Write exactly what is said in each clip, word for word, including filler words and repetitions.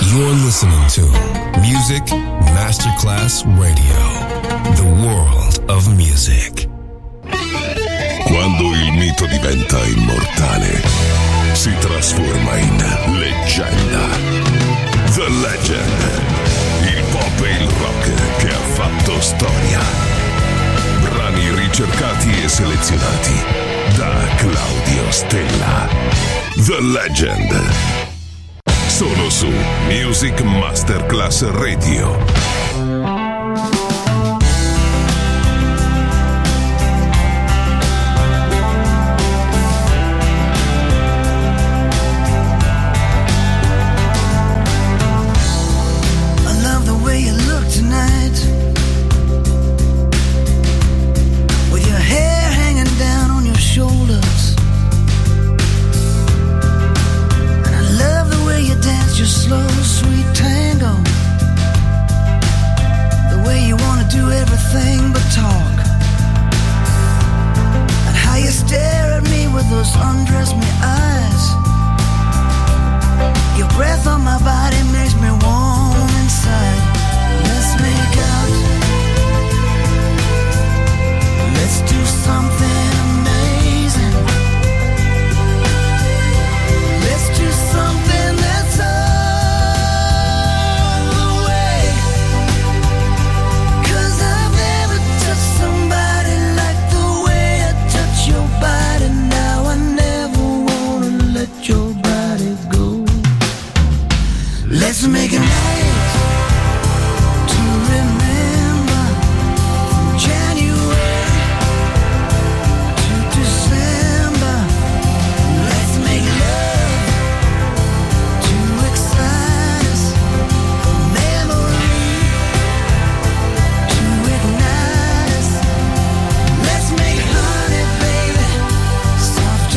You're listening to Music Masterclass Radio, the world of music. Quando il mito diventa immortale, si trasforma in leggenda. The Legend, il pop e il rock che ha fatto storia. Brani ricercati e selezionati da Claudio Stella. The Legend. Solo su Music Masterclass Radio.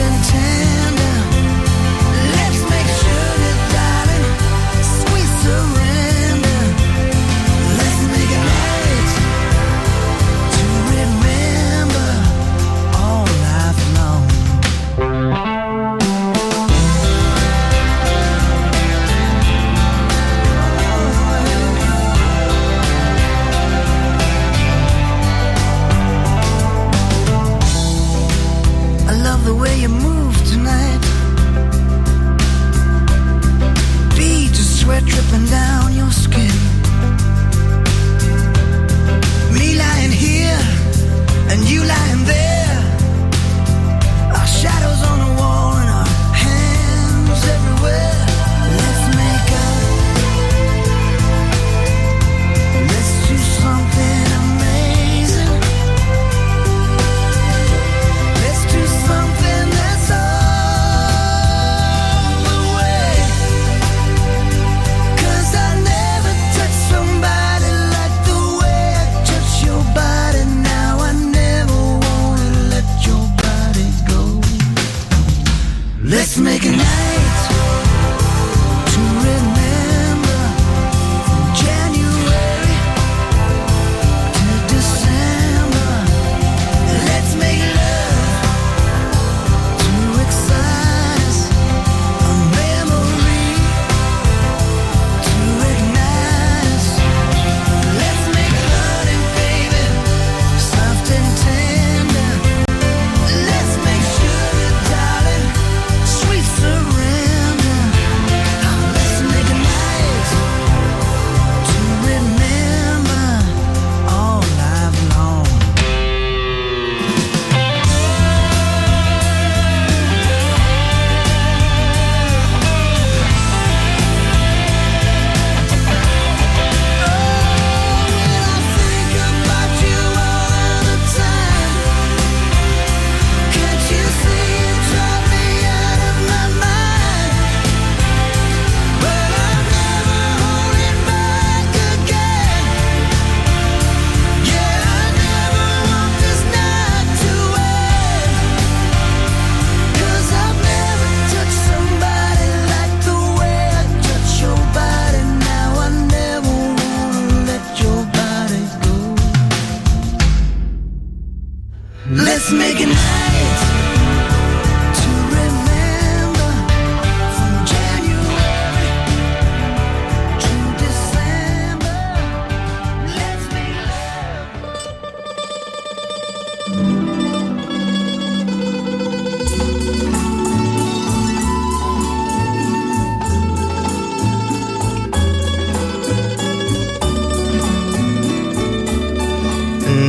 Sweet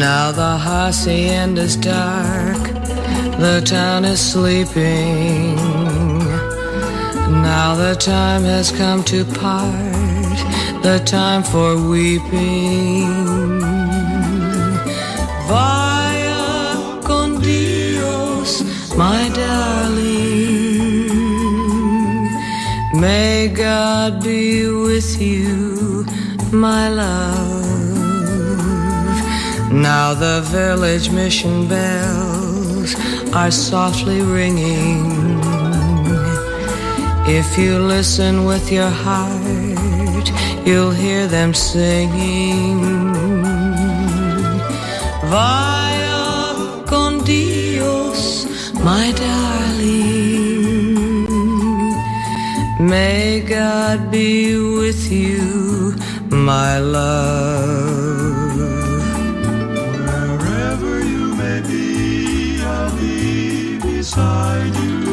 Now the hacienda's dark, the town is sleeping. Now the time has come to part, the time for weeping. Vaya con Dios, my darling. May God be with you, my love. Now the village mission bells are softly ringing. If you listen with your heart, you'll hear them singing. Vaya con Dios, my darling. May God be with you, my love. Beside you,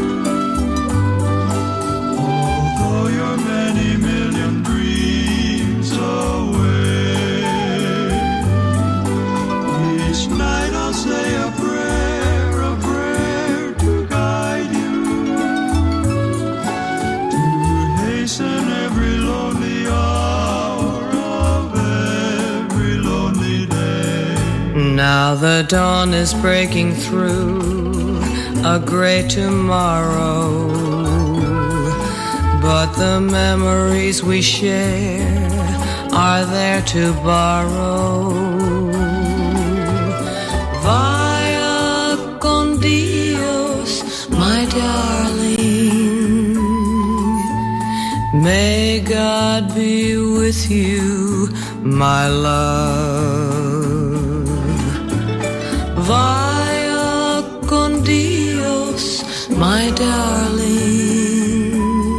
although you're many million dreams away. Each night I'll say a prayer, a prayer to guide you, to hasten every lonely hour of every lonely day. Now the dawn is breaking through a great tomorrow, but the memories we share are there to borrow. Vaya con Dios, my darling. May God be with you, my love. Vaya con Dios, my darling.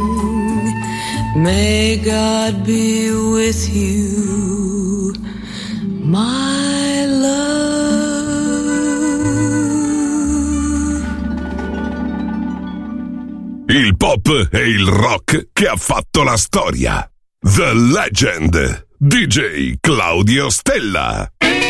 May God be with you, my love. Il pop e il rock che ha fatto la storia. The Legend, D J Claudio Stella.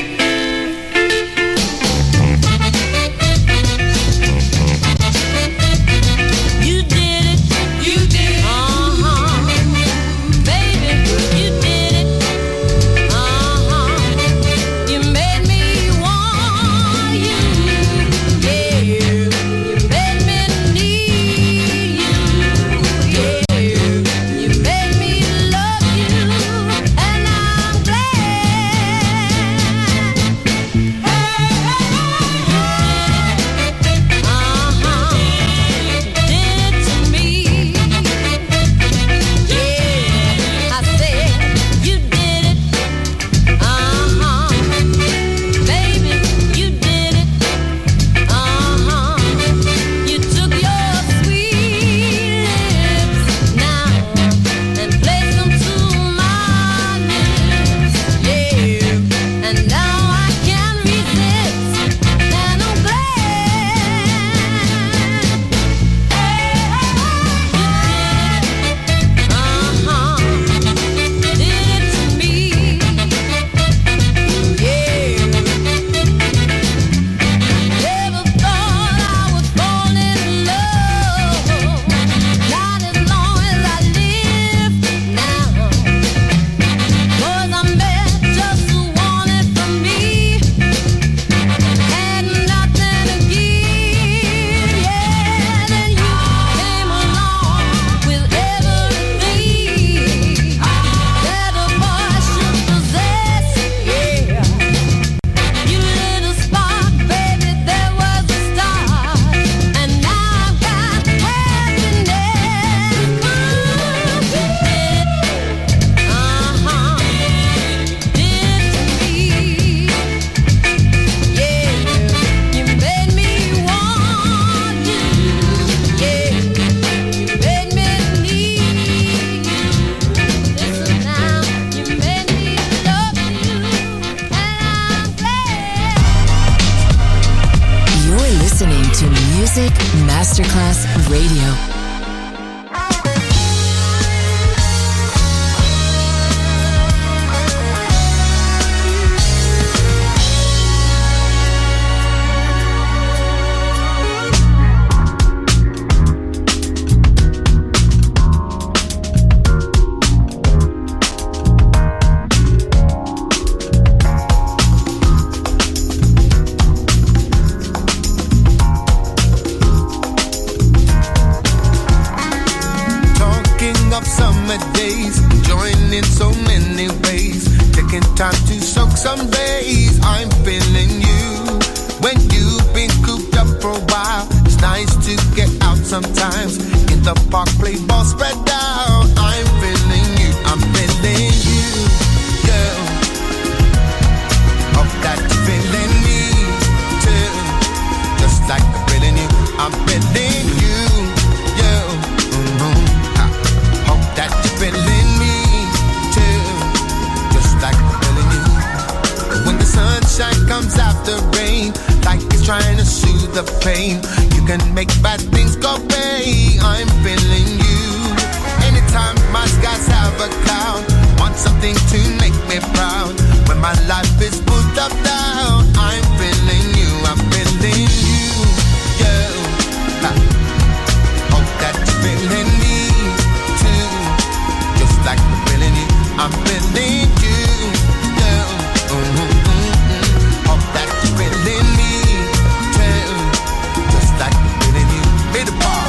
Music Masterclass Radio. summer days, enjoying in so many ways, taking time to soak some days. I'm feeling you when you've been cooped up for a while. It's nice to get out sometimes, in the park, play ball, spread out. I'm feeling you, I'm feeling you, girl. Hope that you're feeling me too, just like I'm feeling you. I'm feeling you, girl. Mm-hmm. Hope that you're feeling me too, just like I'm feeling you. When the sunshine comes after rain, like it's trying to soothe the pain, you can make bad things go away. I'm feeling you. Anytime my skies have a cloud, want something to make me proud. When my life is pulled up down, I'm feeling you. I'm feeling you, girl. Ha. Hope that you're feeling me too, just like I'm feeling you. I'm feeling you, girl. Mm-hmm. Hope that you're feeling me too, just like I'm feeling you. Made a bar.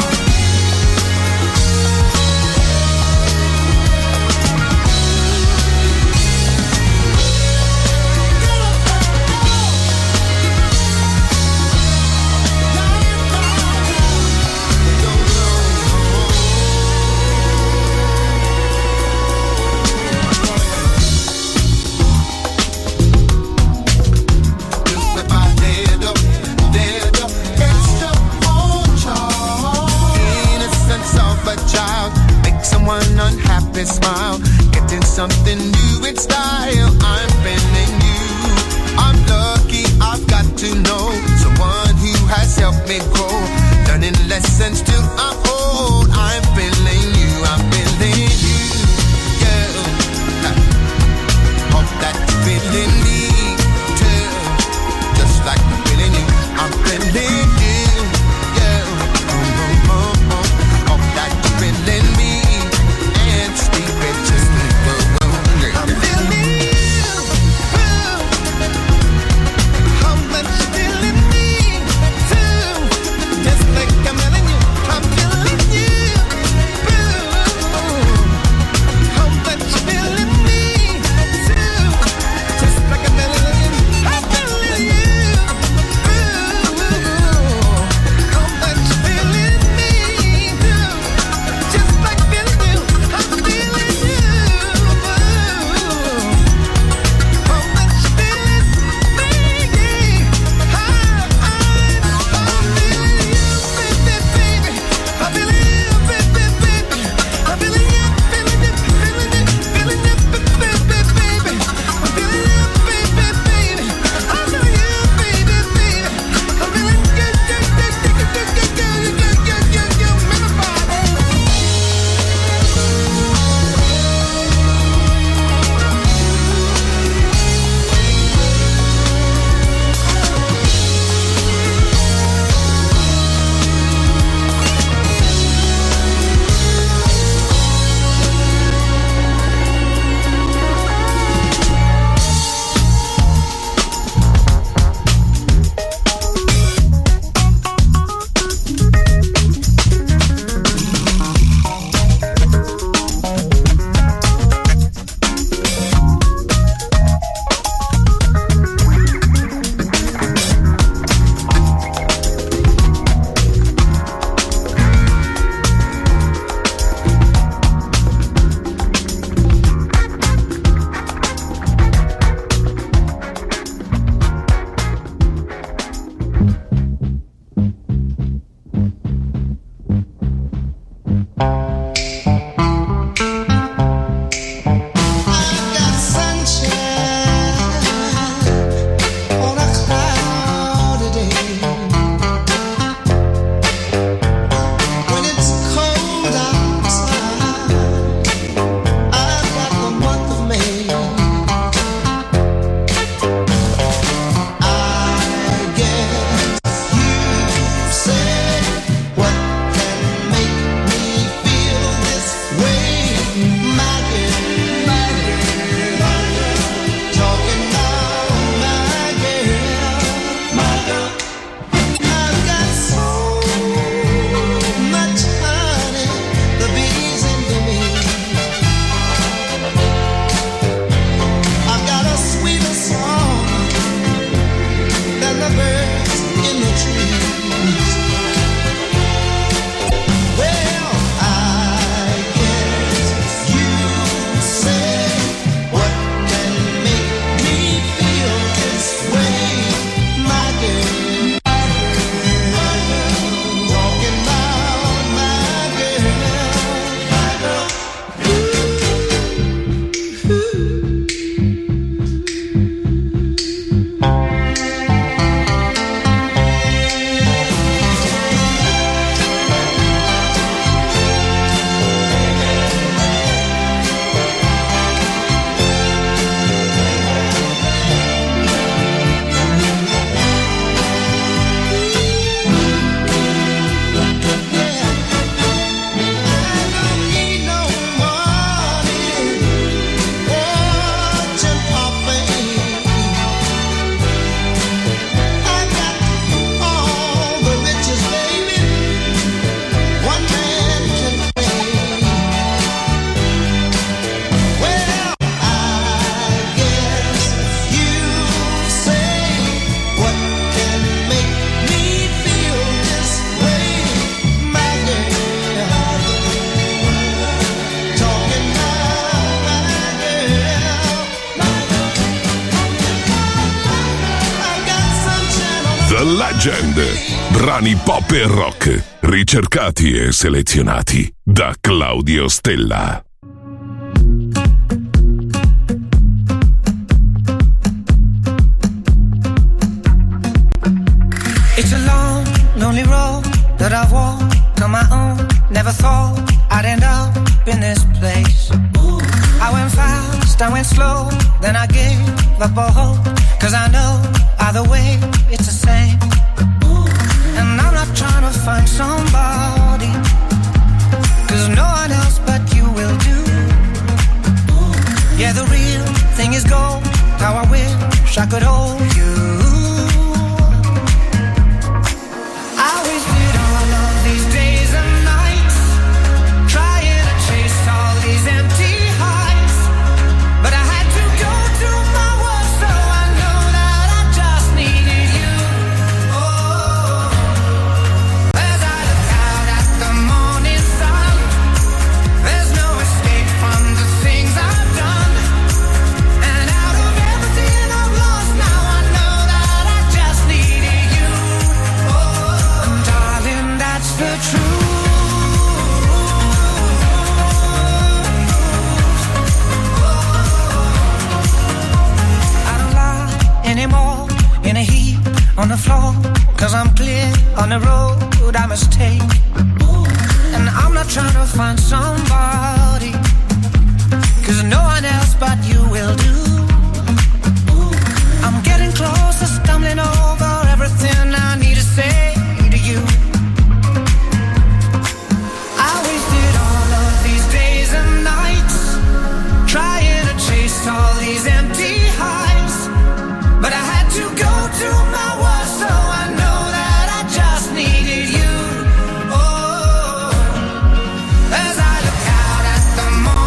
Unhappy smile, getting something new in style. I'm feeling you. I'm lucky I've got to know someone who has helped me grow, learning lessons till I'm old. I'm feeling you. I'm feeling you, girl. Hope that you're feeling me too, just like I'm feeling you. I'm feeling you, girl. Hope that you're feeling me. The Legend. Brani pop e rock, ricercati e selezionati da Claudio Stella. It's a long, lonely road that I've walked on my own. Never thought I'd end up in this place. I went fast, I went slow, then I gave up all hope. Cause I know either way it's the same. And I'm not trying to find somebody, cause no one else but you will do. Yeah, the real thing is gold, how I wish I could hold you. I wasted all of these days and nights trying to chase all these empty highs, but I had to go to my worst, so I know that I just needed you. Oh, as I look out at the morning sun, there's no escape from the things I've done, and out of everything I've lost, now I know that I just needed you. Oh, and darling, that's the truth. I don't lie anymore in a heap on the floor, cause I'm clear on the road I must take. And I'm not trying to find somebody, cause no one else but you will do. I'm getting closer, stumbling over everything I need to say to you. I wasted all of these days and nights trying to chase all these empty highs, but I had to go to my worst, so I know that I just needed you. Oh, as I look out at the morning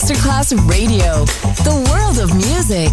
Masterclass Radio, the world of music.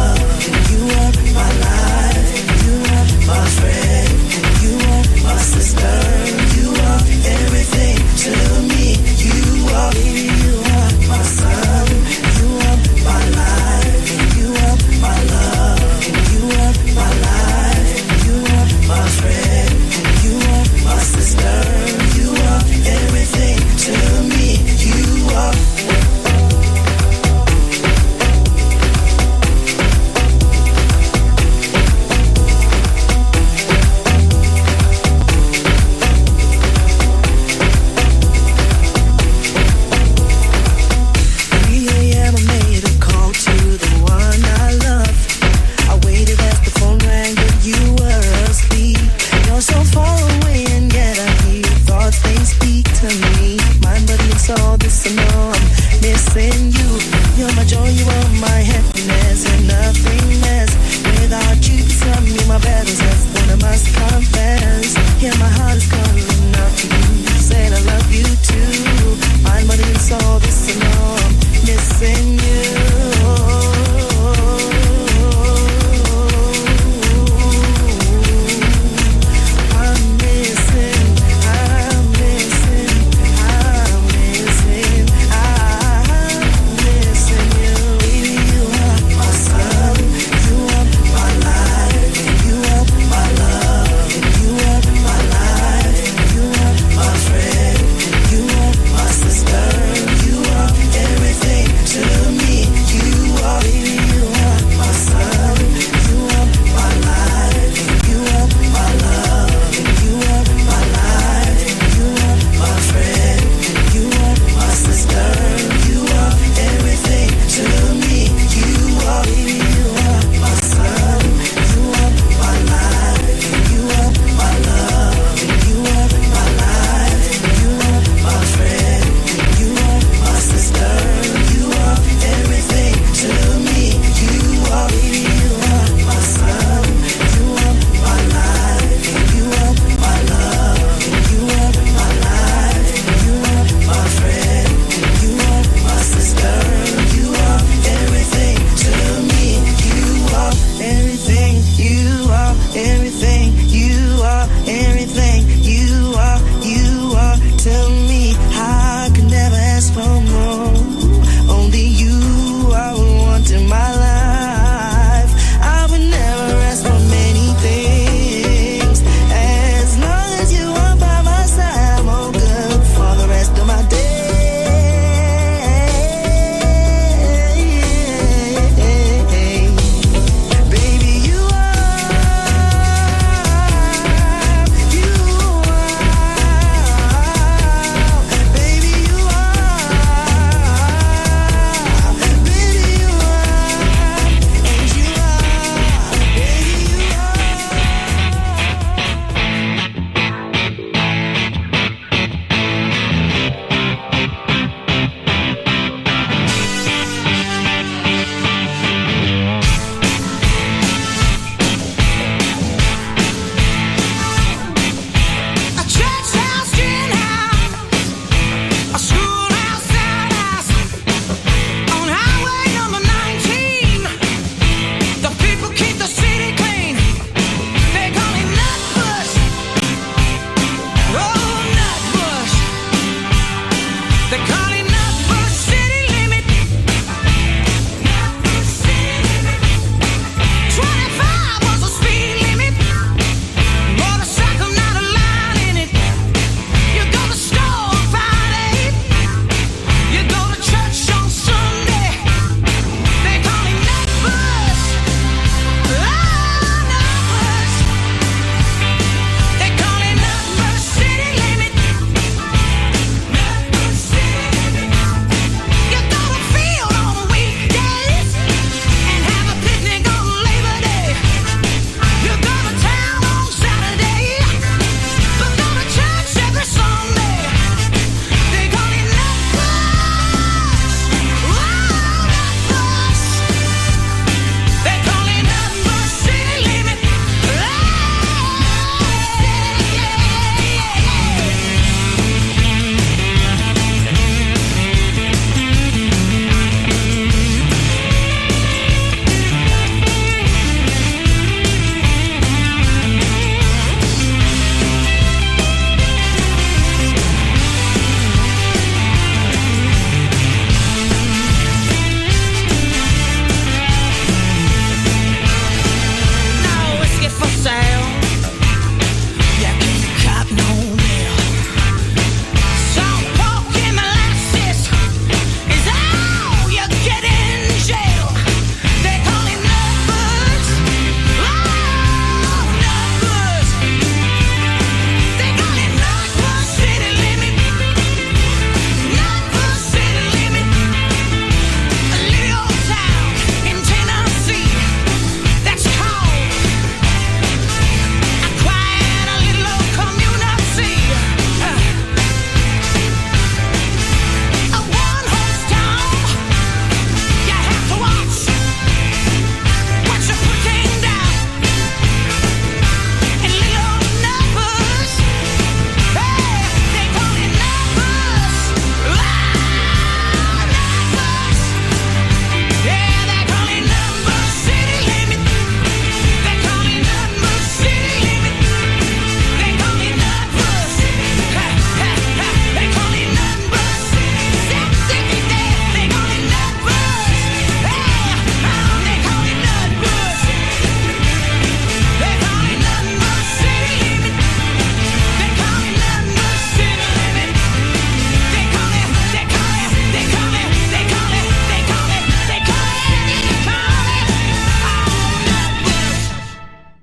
Sister.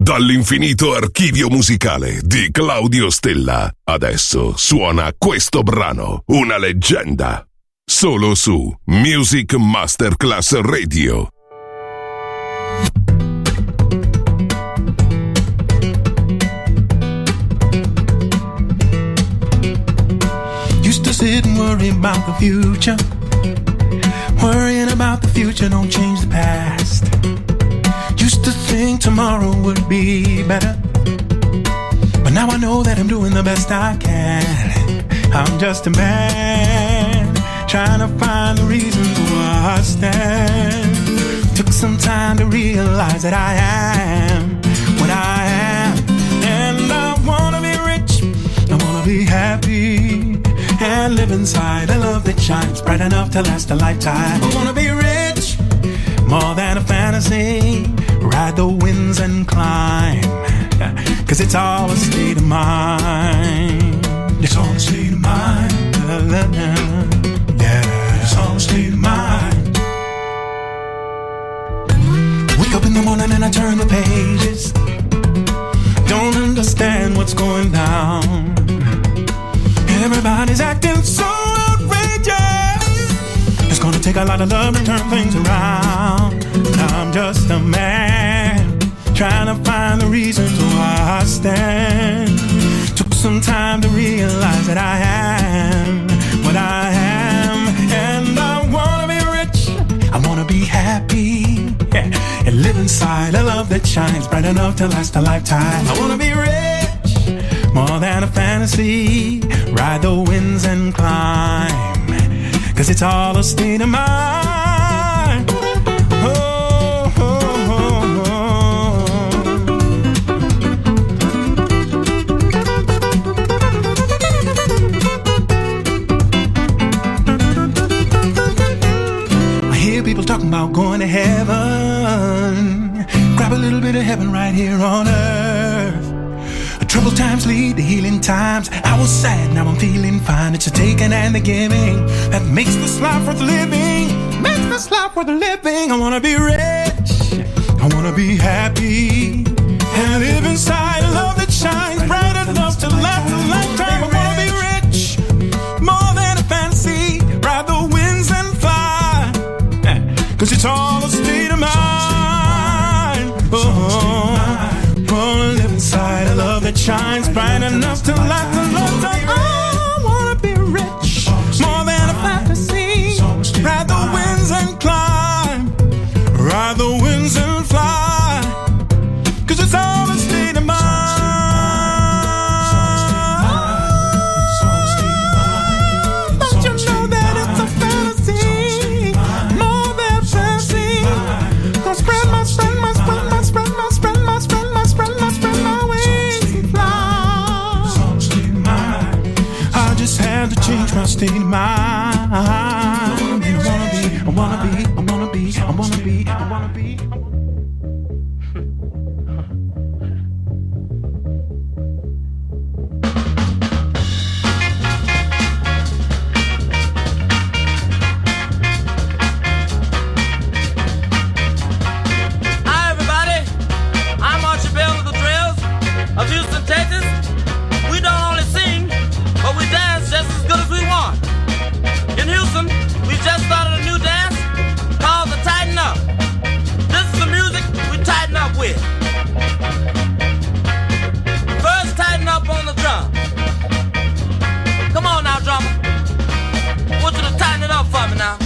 Dall'infinito archivio musicale di Claudio Stella, adesso suona questo brano, una leggenda, solo su Music Masterclass Radio. Used to sit and worry about the future. Worrying about the future don't change the past. Used to think tomorrow would be better, but now I know that I'm doing the best I can. I'm just a man trying to find the reasons why I stand. Took some time to realize that I am what I am, and I wanna be rich, I wanna be happy, and live inside a love that shines bright enough to last a lifetime. I wanna be rich, more than a fantasy, ride the winds and climb, cause it's all a state of mind. It's all a state of mind. Yeah, it's all a state of mind. Wake up in the morning and I turn the pages, don't understand what's going down. Everybody's acting so outrageous. It's gonna take a lot of love to turn things around. I'm just a man trying to find the reasons why I stand. Took some time to realize that I am what I am, and I wanna be rich, I wanna be happy, yeah, and live inside a love that shines bright enough to last a lifetime. I wanna be rich, more than a fantasy, ride the winds and climb, cause it's all a state of mind. Oh, oh, oh, oh. I hear people talking about going to heaven. Grab a little bit of heaven right here on earth. Troubled times lead to healing times. I was sad, now I'm feeling fine. It's a taking and the giving that makes this life worth living. Makes this life worth living. I wanna be rich, I wanna be happy, and live inside a love that shines bright enough to last a lifetime. I wanna be rich, more than a fantasy, ride the winds and fly, cause it's all a state of mind. Oh, wanna live inside a love that shines bright enough to last a lifetime. I wanna be rich, more than a fantasy, ride the winds and climb, ride the winds and fly, cause it's all a state of mind. Don't you know that it's a fantasy, more than fantasy? I'll spread my, spread my, spread my, spread my, spread my, spread my, spread my, spread my wings and fly. I just had to change my state of mind. I wanna be, I wanna be, I wanna be, I wanna be, I wanna be. Hi everybody, I'm Archie Bell of the Trails of Houston, Texas. We don't only sing, but we dance just as good as we want. In Houston, we just started a new dance called the Tighten Up. This is the music we tighten up with. First, tighten up on the drum. Come on now, drummer. I want you to tighten it up for me now.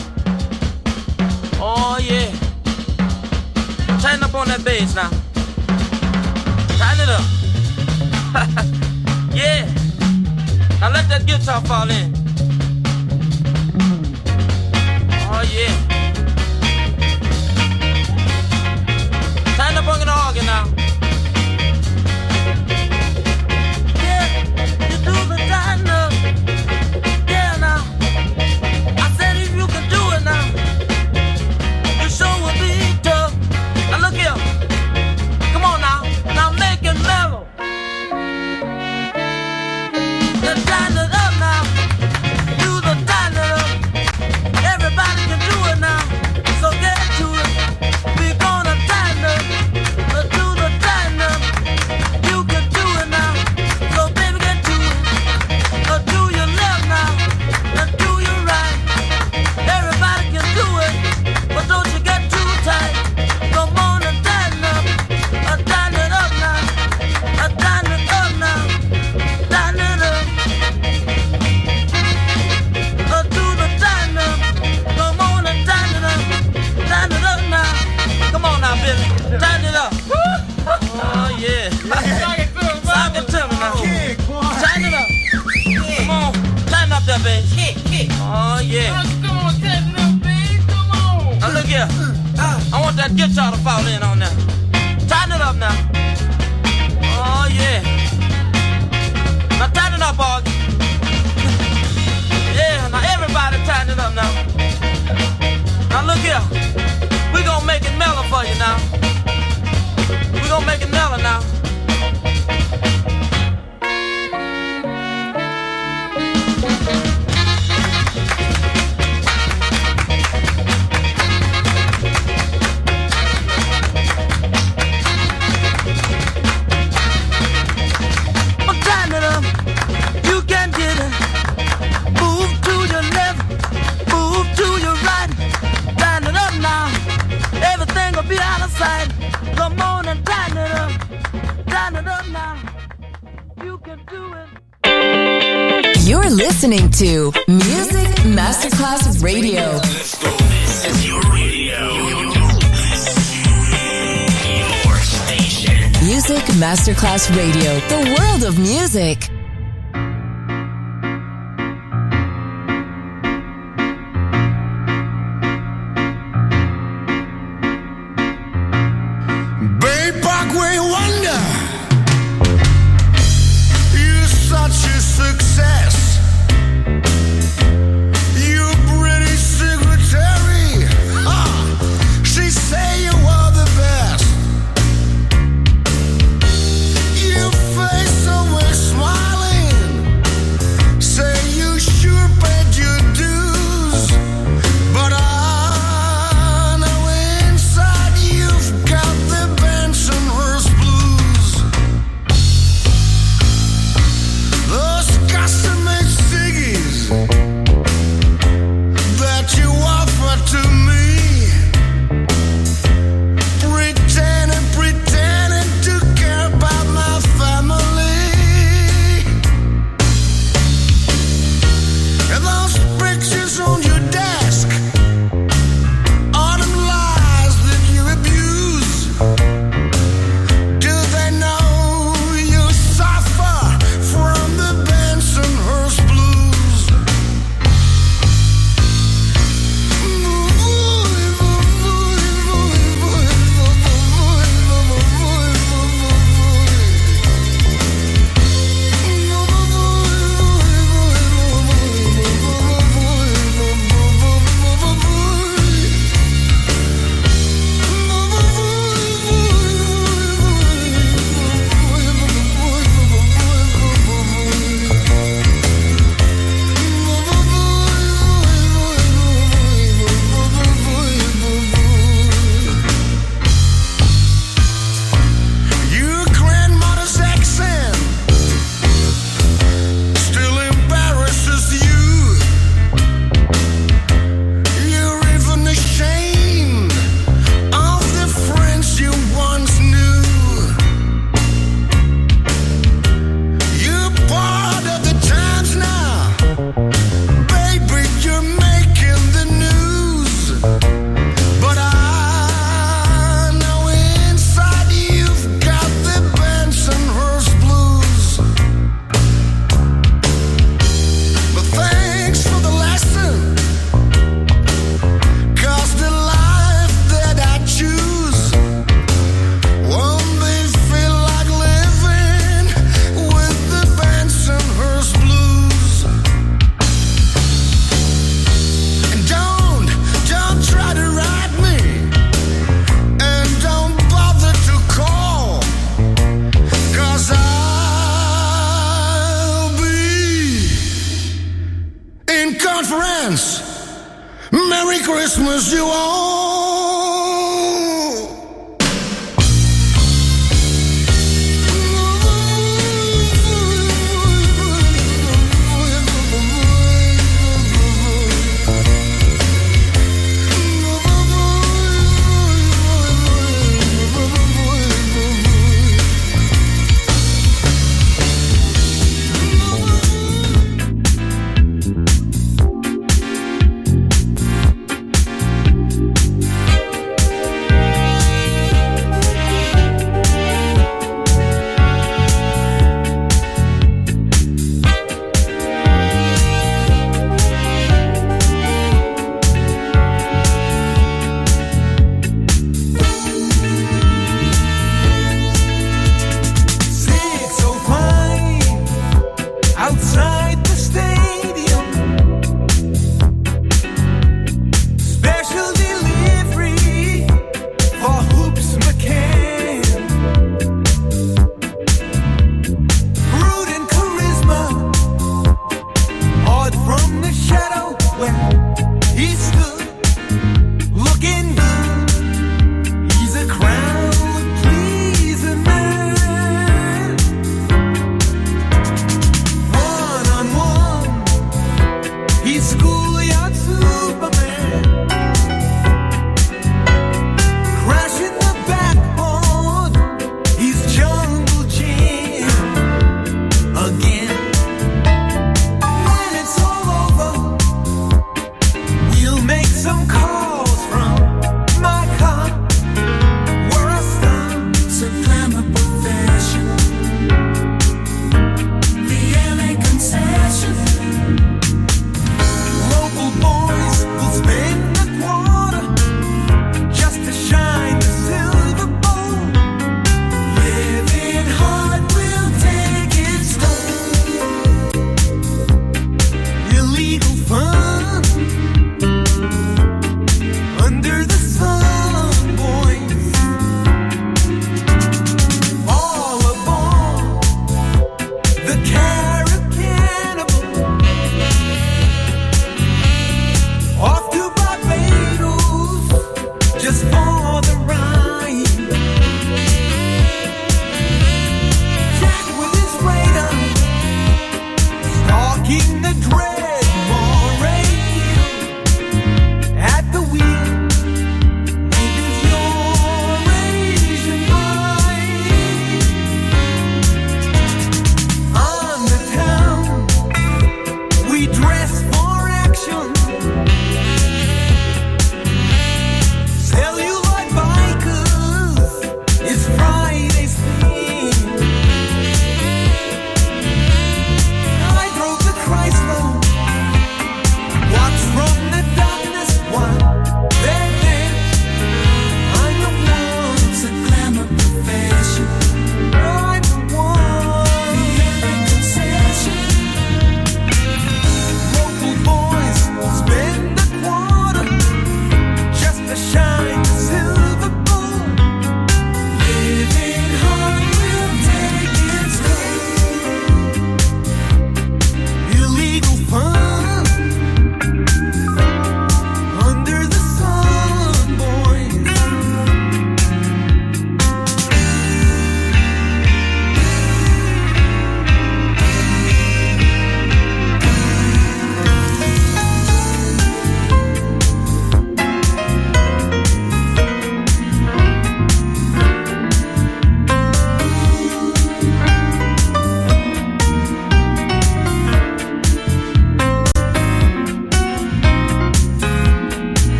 Oh yeah. Tighten up on that bass now. Tighten it up. Yeah. Now let that guitar fall in. Oh yeah. Tighten up on the organ now. Yeah, you do the tighten up. Yeah now. I said if you can do it now, you sure will be tough. Now look here. Come on now. Now make it mellow. Then tighten it up now. Do the tighten it up. Everybody can do it here. I want that guitar to fall in on now. Tighten it up now. Oh yeah. Now tighten it up, Augie. Yeah, now everybody tighten it up now. Now look here. We gonna make it mellow for you now. We gonna make it mellow now. Be out of sight. Come on and tighten it up. Tighten it up now. You can do it. You're listening to Music Masterclass Radio. Let's go. This is your radio. Your station. Music Masterclass Radio. The world of music. Success. You pretty secretary. Huh. She say you are the best. Your face always smiling. Say you sure paid your dues. But I know inside you've got the Bensonhurst blues. Those customers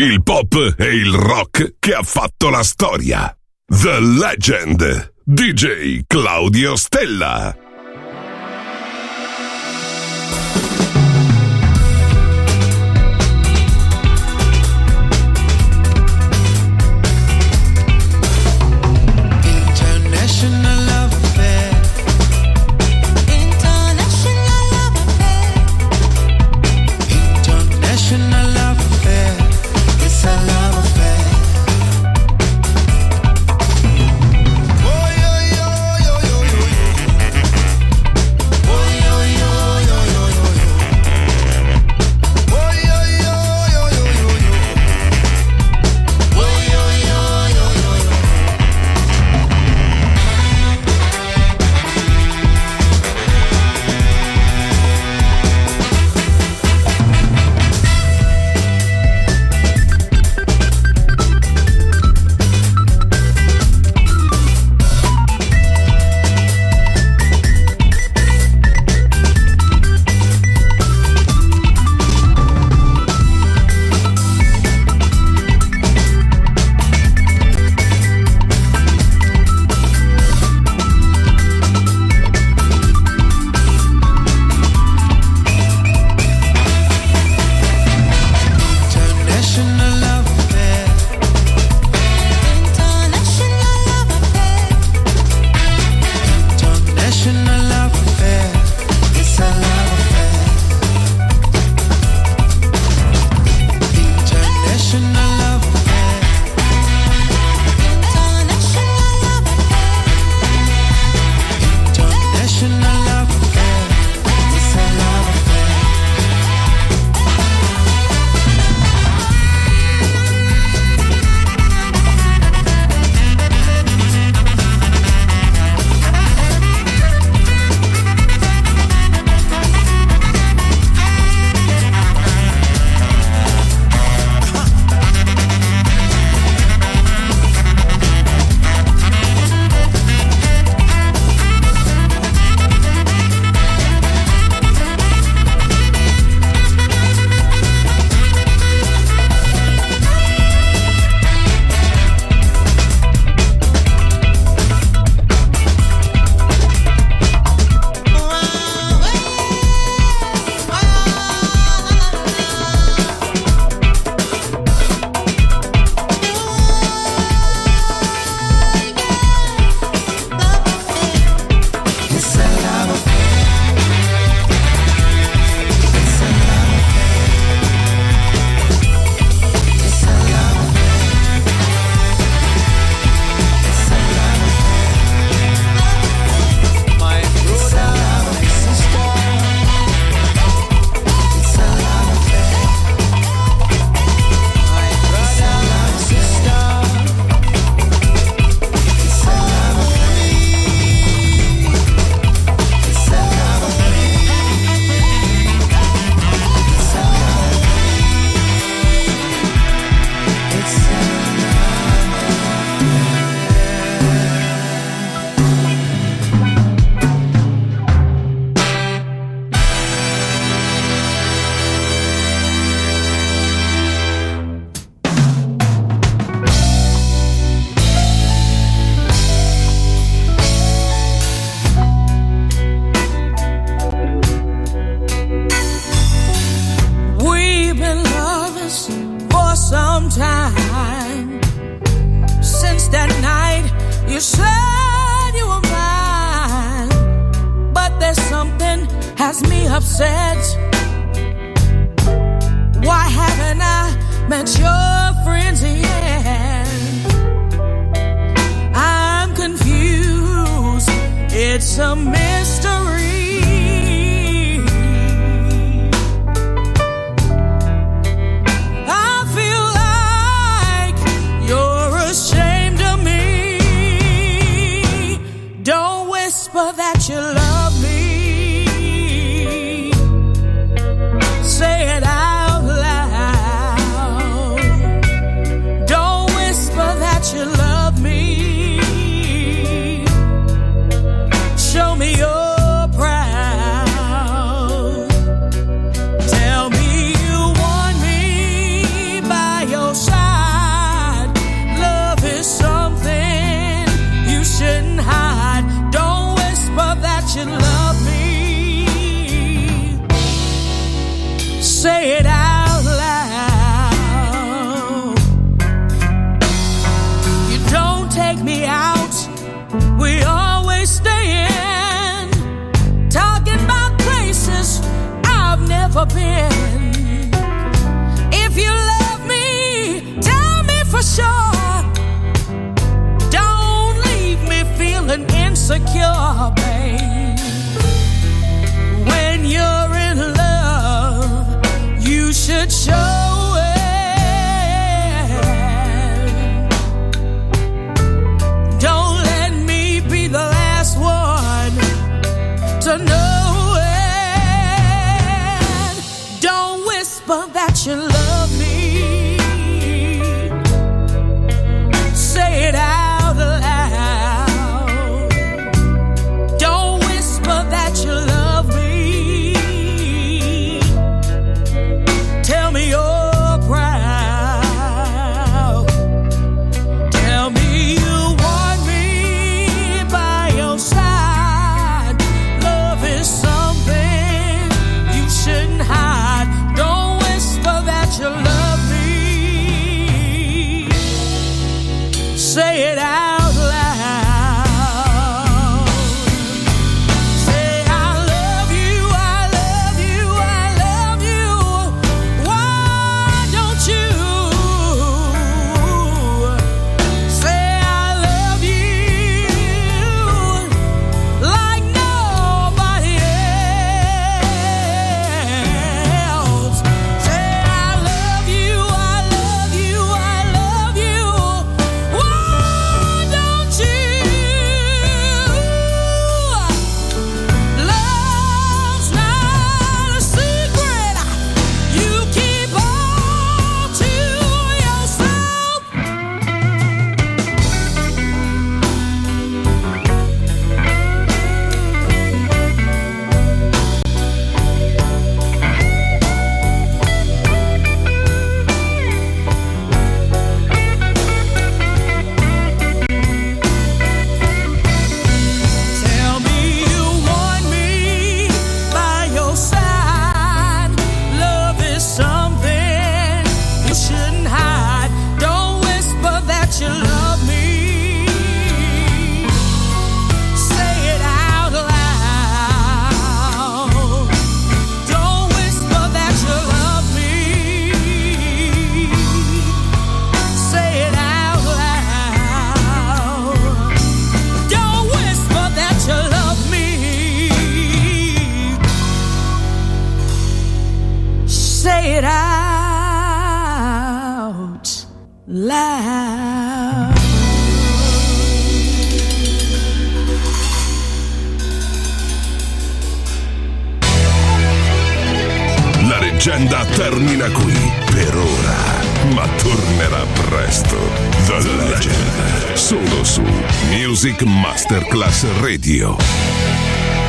il pop e il rock che ha fatto la storia. The Legend, D J Claudio Stella. We always staying, talking about places I've never been. If you love me, tell me for sure. Don't leave me feeling insecure, babe. When you're in love, you should show it. Don't let me be the last one to know it. Don't whisper that you love me. Say it out loud. Don't whisper that you love me. Tell me you're proud. Tell me you want me by your side. Love is something you shouldn't hide. Don't whisper that you love me. Say it out loud. Say I love you, I love you, I love you. Why don't you say I love you like nobody else? Say I love you, I love you, I love you. Why don't you? Love's not a secret you keep all to yourself. Tell me you want me by your side. Love is something you shouldn't hide. Don't whisper that you love me. Say it out loud. Don't whisper that you love me. Say it out loud. Don't whisper that you love me. Say it out loud. La leggenda termina qui per ora, ma tornerà presto. The Legend, solo su Music Masterclass Radio.